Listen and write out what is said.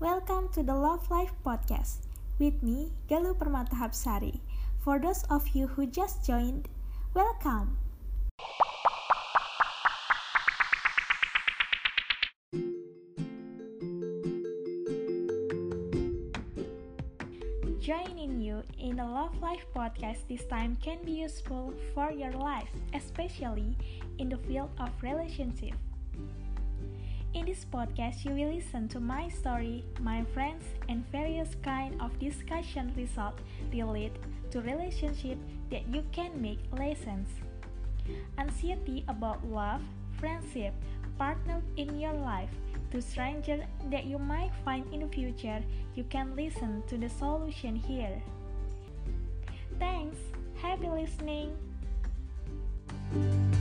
Welcome to the Love Life Podcast with me, Galuh Permata Hapsari. For those of you who just joined, welcome! Joining you in the Love Life Podcast this time can be useful for your life, especially in the field of relationship. In this podcast, you will listen to my story, my friends, and various kind of discussion result relate to relationship that you can make lessons. Anxiety about love, friendship, partner in your life, to stranger that you might find in the future, you can listen to the solution here. Thanks. Happy listening.